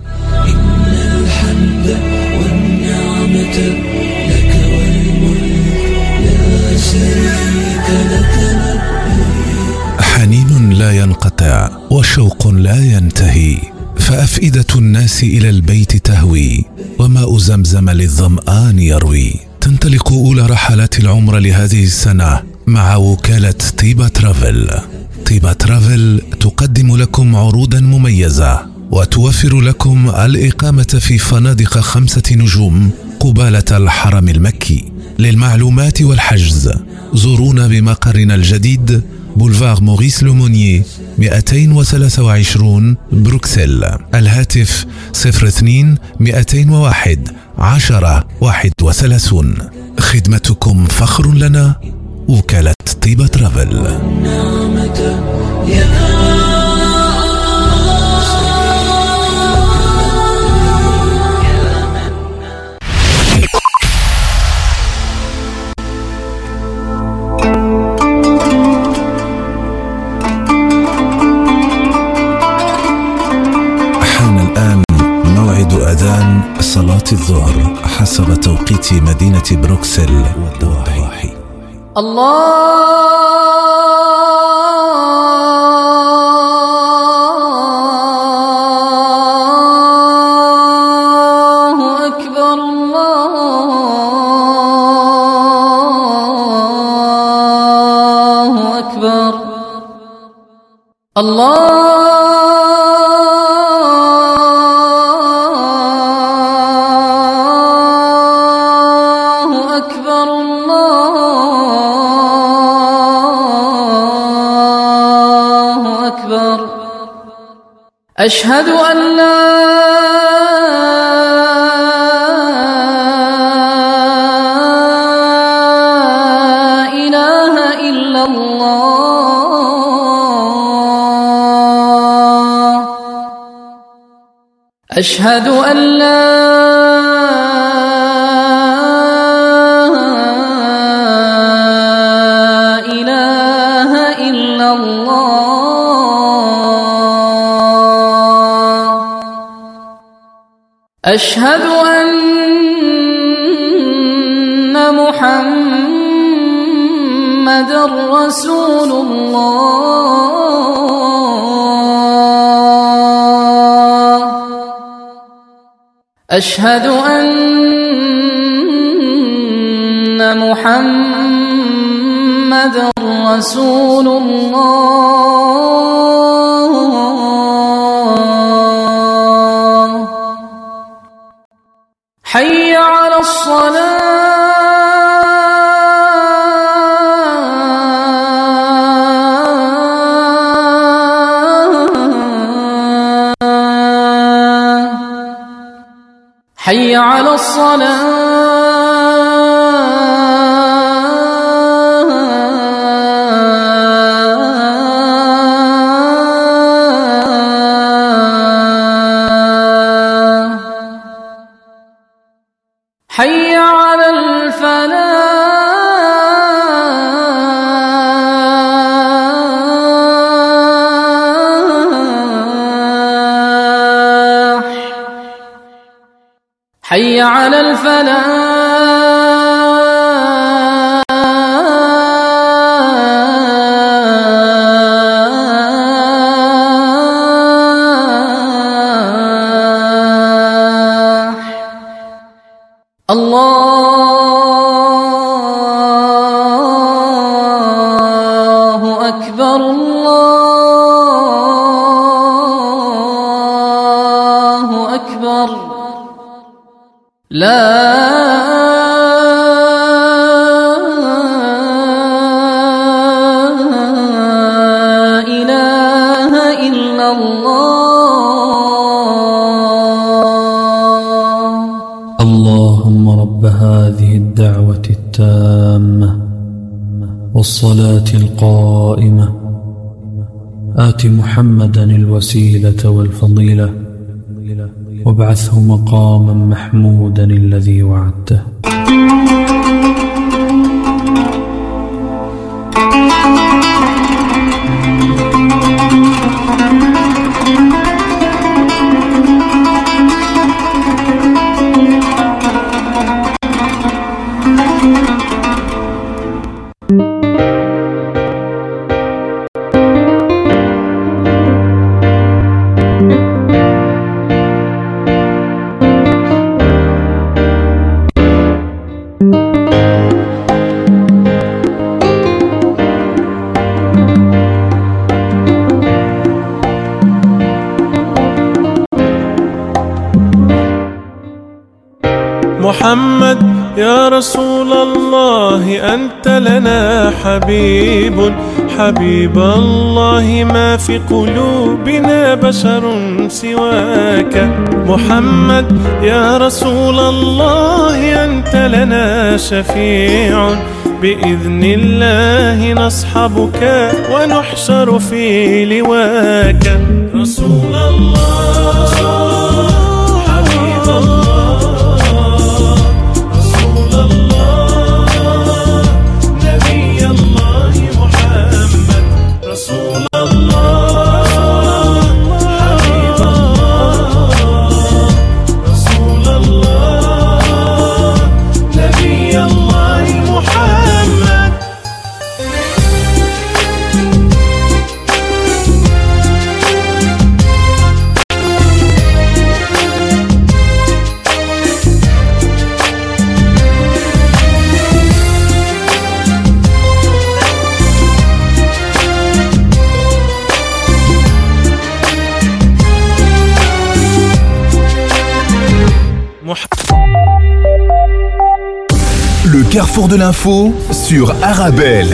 Speaker 5: حنين لا ينقطع وشوق لا ينتهي فأفئدة الناس إلى البيت تهوي وماء زمزم للظمآن يروي. تنطلق أولى رحلات العمر لهذه السنة مع وكالة طيبة ترافل. طيبة ترافل تقدم لكم عروضا مميزة وتوفر لكم الإقامة في فنادق خمسة نجوم قبالة الحرم المكي. للمعلومات والحجز زورونا بمقرنا الجديد بولفار موريس لومونيي مئتين وثلاثة وعشرين بروكسل. الهاتف صفر اثنين مئتين وواحد عشرة واحد وثلاثون. خدمتكم فخر لنا وكالة طيبة ترافل. أذان صلاة الظهر حسب توقيت مدينة بروكسل والضواحي.
Speaker 6: الله أكبر الله أكبر الله أشهد أن لا إله إلا الله أشهد أن لا إله إلا الله أشهد أن محمدًا رسول الله أشهد أن محمدًا رسول الله حي على الصلاة حي على الصلاة حي على الفلاح حي على الفلاح الله أكبر الله أكبر لا إله إلا الله
Speaker 8: اللهم رب هذه الدعوة التامة والصلاة القائمة آت محمدا الوسيلة والفضيلة وابعثه مقاما محمودا الذي وعدته.
Speaker 9: محمد يا رسول الله أنت لنا حبيب حبيب الله ما في قلوبنا بشر سواك محمد يا رسول الله أنت لنا شفيع بإذن الله نصحبك ونحشر في لواك رسول الله حبيب الله رسول الله نبي الله محمد رسول الله حبيب الله رسول الله نبي الله محمد
Speaker 7: Le carrefour de l'info sur Arabelle.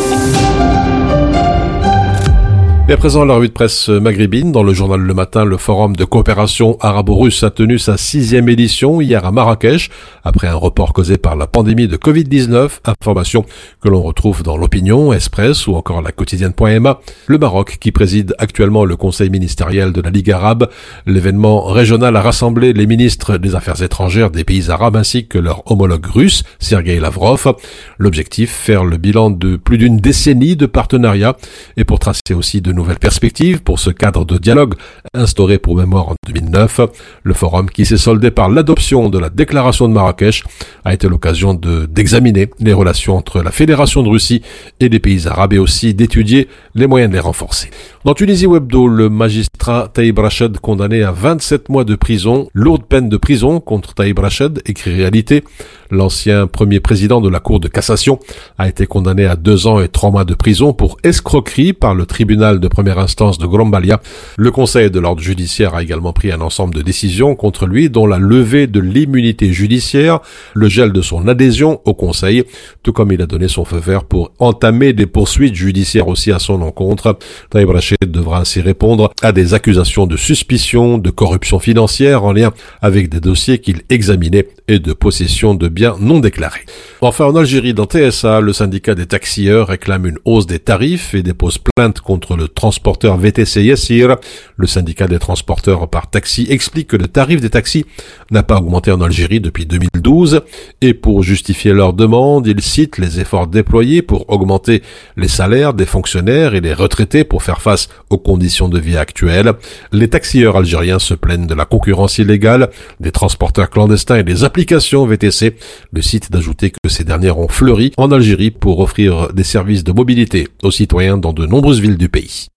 Speaker 11: Et à présent, la revue de presse maghrébine. Dans le journal Le Matin, le forum de coopération arabo-russe a tenu sa sixième édition hier à Marrakech, après un report causé par la pandémie de covid dix-neuf. Information que l'on retrouve dans l'Opinion, Express ou encore la quotidienne.ma. Le Maroc, qui préside actuellement le conseil ministériel de la Ligue arabe. L'événement régional a rassemblé les ministres des Affaires étrangères des pays arabes ainsi que leur homologue russe, Sergueï Lavrov. L'objectif, faire le bilan de plus d'une décennie de partenariat et pour tracer aussi de nouvelles perspectives pour ce cadre de dialogue instauré pour mémoire en deux mille neuf. Le forum, qui s'est soldé par l'adoption de la déclaration de Marrakech, a été l'occasion de d'examiner les relations entre la Fédération de Russie et les pays arabes et aussi d'étudier les moyens de les renforcer. Dans Tunisie Webdo, le magistrat Taïb Rached condamné à vingt-sept mois de prison, lourde peine de prison contre Taïb Rached, écrit Réalité. L'ancien premier président de la Cour de cassation a été condamné à deux ans et trois mois de prison pour escroquerie par le tribunal de première instance de Grombalia. Le Conseil de l'ordre judiciaire a également pris un ensemble de décisions contre lui, dont la levée de l'immunité judiciaire, le gel de son adhésion au Conseil, tout comme il a donné son feu vert pour entamer des poursuites judiciaires aussi à son encontre. Taïb Rached devra ainsi répondre à des accusations de suspicion, de corruption financière en lien avec des dossiers qu'il examinait et de possession de biens non déclarés. Enfin, en Algérie, dans T S A, le syndicat des taxieurs réclame une hausse des tarifs et dépose plainte contre le transporteur V T C Yassir. Le syndicat des transporteurs par taxi explique que le tarif des taxis n'a pas augmenté en Algérie depuis deux mille douze et pour justifier leur demande, ils citent les efforts déployés pour augmenter les salaires des fonctionnaires et les retraités pour faire face aux conditions de vie actuelles. Les taxieurs algériens se plaignent de la concurrence illégale, des transporteurs clandestins et des applications V T C. Le site d'ajouter que ces dernières ont fleuri en Algérie pour offrir des services de mobilité aux citoyens dans de nombreuses villes du pays.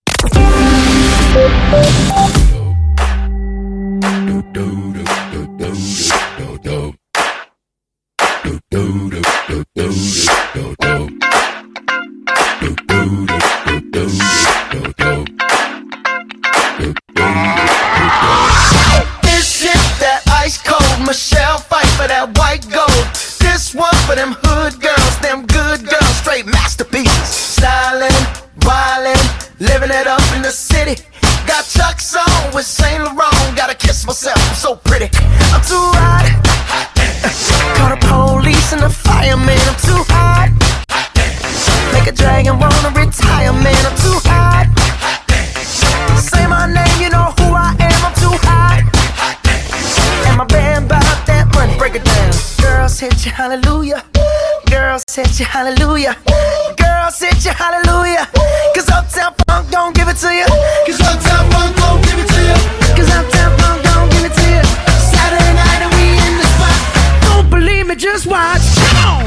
Speaker 10: This shit that ice cold Michelle fight for that white gold. This one for them hood girls, them good girls, straight masterpieces. Stylin', wildin', living it up in the city. Got Chuck's on with Saint Laurent. Gotta kiss myself, I'm so pretty. I'm too hot. Call the police and the fireman. I'm too hot. Make a dragon wanna retire, man. I'm too hot. Say my name, you know who I am. I'm too hot. And my band bought that money. Break it down. Girls hit you, hallelujah. Girls hit you, hallelujah. Girls hit you, hallelujah. Cause Uptown Funk don't give it to you. Cause Uptown Funk don't give it to you. Cause Uptown Funk don't give it to you. Saturday night and we in the spot. Don't believe me, just watch. Come on.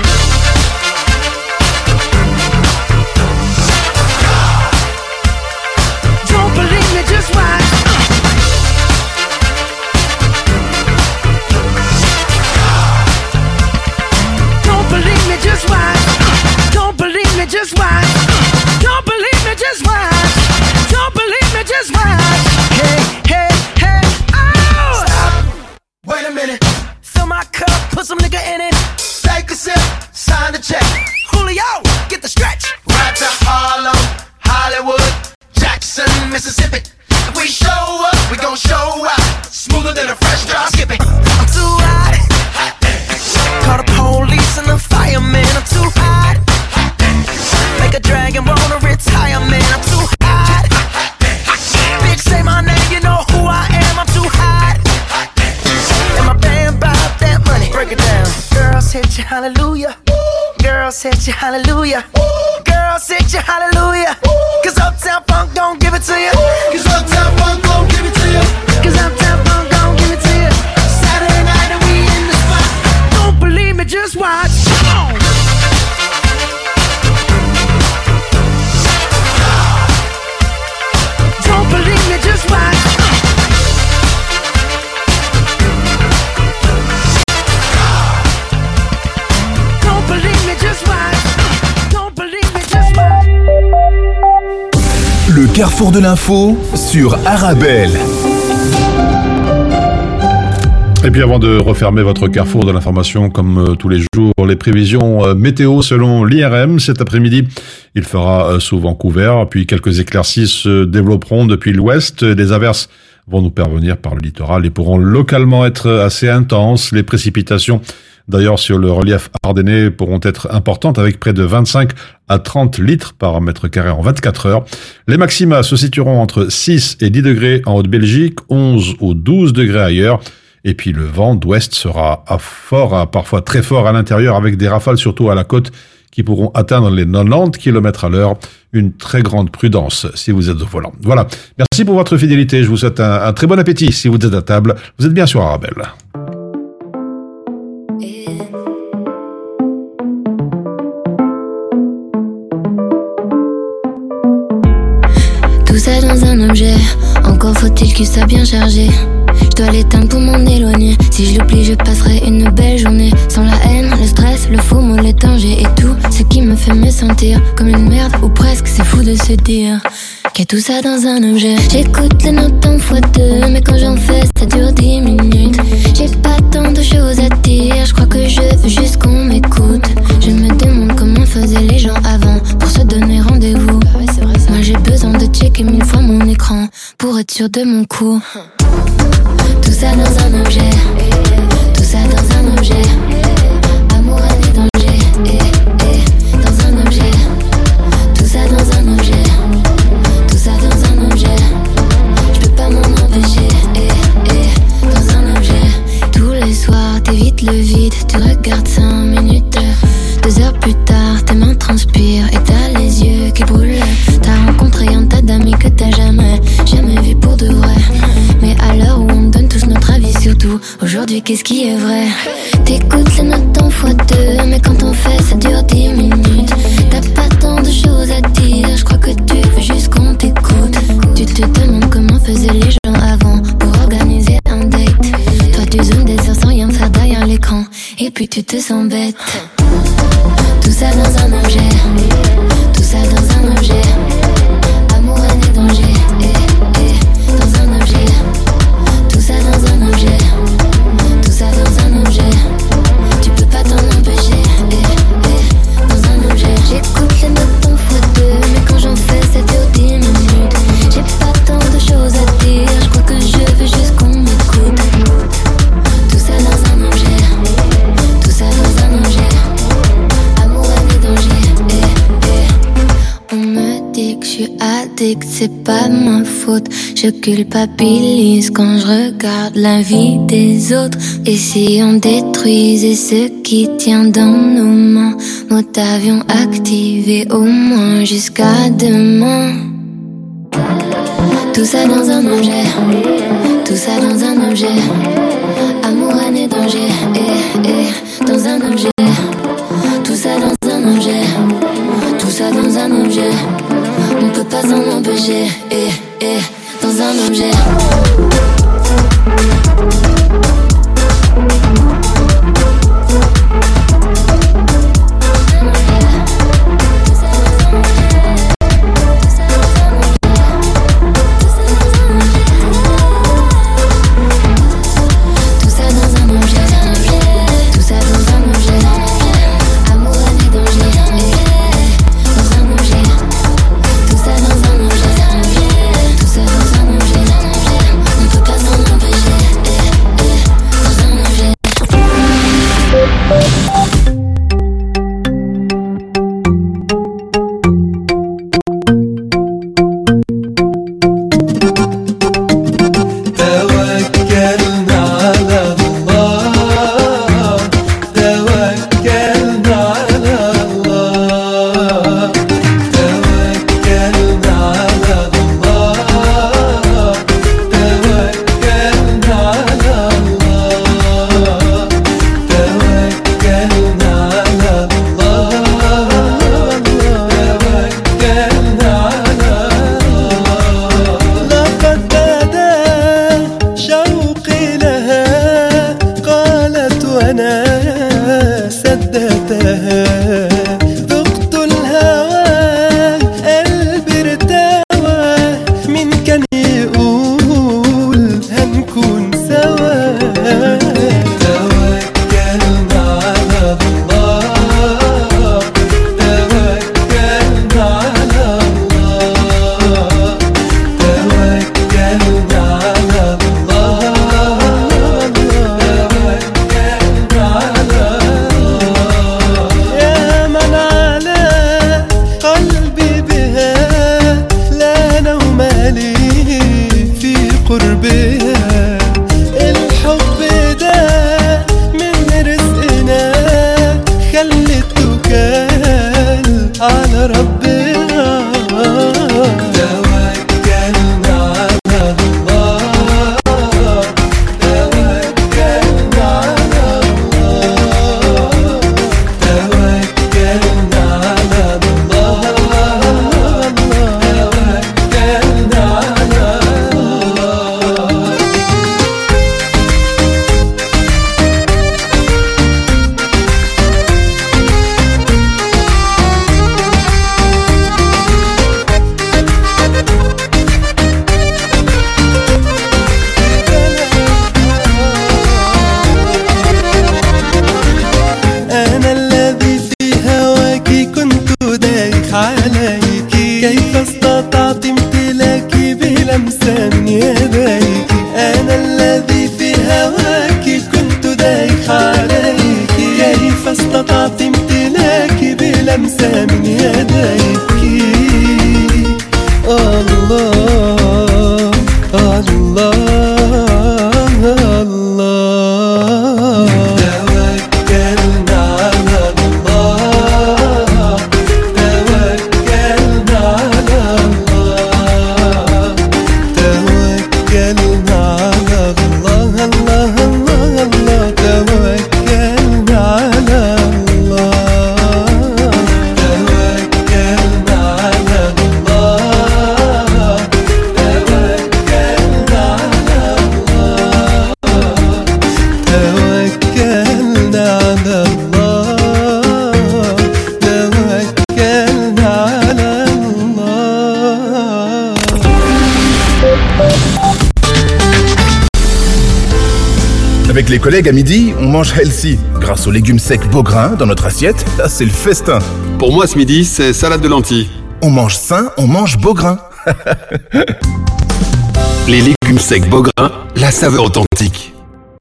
Speaker 10: Don't believe me, just watch. Don't believe me, just watch. Don't believe me, just watch. Don't believe me, just watch. Don't believe me, just watch. Hey, hey, hey, oh! Stop. Wait a minute. Fill my cup, put some nigga in it. Take a sip, sign the check. Julio, get the stretch. Right to Harlem, Hollywood, Jackson, Mississippi. If we show up, we gon' show out. Smoother than a fresh drop. Skip it. I'm too hot. Call the police and the fireman. I'm too hot. hit you hallelujah. Girls hit you hallelujah. Girls hit you hallelujah. Cause Uptown Funk don't give it to you. Cause Uptown Funk don't give it to you. Cause Uptown Funk don't give it to you. Saturday night and we in the spot. Don't believe me, just watch. Come on. Don't believe me, just watch. Don't believe me, just watch. Don't believe me, just watch.
Speaker 7: Le carrefour de l'info sur Arabelle.
Speaker 12: Et puis avant de refermer votre carrefour de l'information comme euh, tous les jours, les prévisions euh, météo selon l'I R M. Cet après-midi, il fera euh, souvent couvert, puis quelques éclaircies se développeront depuis l'ouest. Les averses vont nous parvenir par le littoral et pourront localement être assez intenses. Les précipitations, d'ailleurs, sur le relief ardennais pourront être importantes avec près de vingt-cinq à trente litres par mètre carré en vingt-quatre heures. Les maxima se situeront entre six et dix degrés en Haute-Belgique, onze ou douze degrés ailleurs. Et puis le vent d'ouest sera à fort, à parfois très fort à l'intérieur avec des rafales surtout à la côte qui pourront atteindre les quatre-vingt-dix kilomètres à l'heure. Une très grande prudence si vous êtes au volant. Voilà. Merci pour votre fidélité. Je vous souhaite un, un très bon appétit si vous êtes à table. Vous êtes bien sur Arabelle.
Speaker 13: Tout ça dans un objet, encore faut-il qu'il soit bien chargé. Je dois l'éteindre pour m'en éloigner. Si je l'oublie, je passerai une belle journée. Sans la haine, le stress, le faux mot, les dangers et tout ce qui me fait me sentir comme une merde ou presque. C'est fou de se dire qu'il y a tout ça dans un objet. J'écoute les notes en fois deux, mais quand j'en fais, ça dure dix minutes. J'ai pas tant de choses à dire, je crois que je veux juste qu'on m'écoute. Je me demande comment faisaient les gens avant pour se donner rendez-vous. Moi j'ai besoin de checker mille fois mon écran pour être sûr de mon coup. Tout ça dans un objet, tout ça dans un objet. Amour, haine et danger, eh, eh, dans un objet. Tout ça dans un objet, tout ça dans un objet. Je peux pas m'en empêcher, eh, eh, dans un objet. Tous les soirs, t'évites le vide, tu regardes cinq minutes. Deux heures plus tard, tes mains transpirent et t'as les yeux qui brûlent. T'as rencontré un tas d'amis que t'as jamais, jamais vu pour de vrai. Mais à l'heure où on donne tous notre avis sur tout, aujourd'hui qu'est-ce qui est vrai? T'écoutes les notes en fois deux, mais quand on fait ça dure dix minutes. T'as pas tant de choses à dire, je crois que tu veux juste qu'on t'écoute. Tu te demandes comment faisaient les gens avant pour organiser un date. Toi tu zoomes des heures sans rien faire derrière l'écran, et puis tu te sens bête. Tout ça dans un objet, tout ça dans un objet. Amour, haine et danger, eh, eh, dans un objet. Tout ça dans un objet, tout ça dans un objet. Tu peux pas t'en empêcher, eh, eh, dans un objet. J'écoute les notes en fois deux, mais quand j'en fais ça dure dix minutes. J'ai pas tant de choses à dire, je crois que je veux juste qu'on m'écoute. Tout ça dans un objet, tout ça dans un objet. On me dit que je suis addict, c'est pas ma faute. Je culpabilise quand je regarde la vie des autres. Et si on détruisait ce qui tient dans nos mains, mode avion activé au moins jusqu'à demain. Tout ça dans un objet, tout ça dans un objet. Amour, haine et danger, eh, eh, dans un objet. Tout ça dans un objet, tout ça dans un objet. On peut pas s'en empêcher, eh, eh, dans un objet.
Speaker 14: Avec les collègues à midi, on mange healthy. Grâce aux légumes secs Beaugrain dans notre assiette, là c'est le festin.
Speaker 18: Pour moi ce midi, c'est salade de lentilles.
Speaker 14: On mange sain, on mange Beaugrain.
Speaker 18: Les légumes secs Beaugrain, la saveur authentique.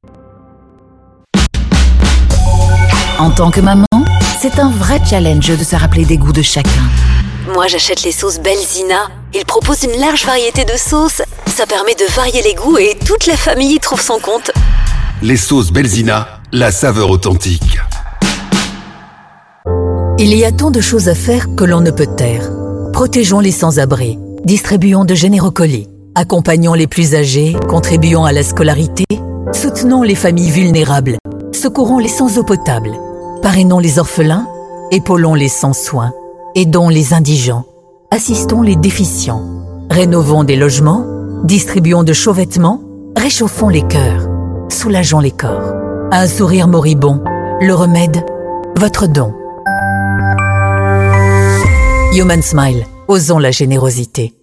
Speaker 15: En tant que maman, c'est un vrai challenge de se rappeler des goûts de chacun.
Speaker 17: Moi, j'achète les sauces Belzina. Ils proposent une large variété de sauces. Ça permet de varier les goûts et toute la famille y trouve son compte.
Speaker 18: Les sauces Belzina, la saveur authentique.
Speaker 15: Il y a tant de choses à faire que l'on ne peut taire. Protégeons les sans-abri, distribuons de généreux colis, accompagnons les plus âgés, contribuons à la scolarité, soutenons les familles vulnérables, secourons les sans eau potable, parrainons les orphelins, épaulons les sans soins, aidons les indigents, assistons les déficients, rénovons des logements, distribuons de chauds vêtements, réchauffons les cœurs, soulageons les corps. Un sourire moribond, le remède, votre don. Human Smile, osons la générosité.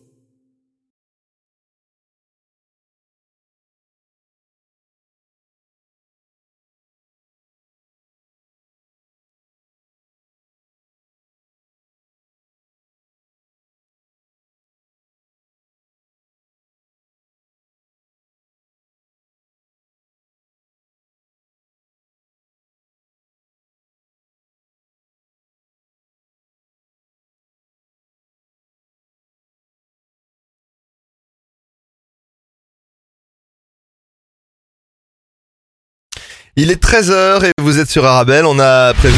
Speaker 24: Il est treize heures et vous êtes sur Arabelle. On a prévu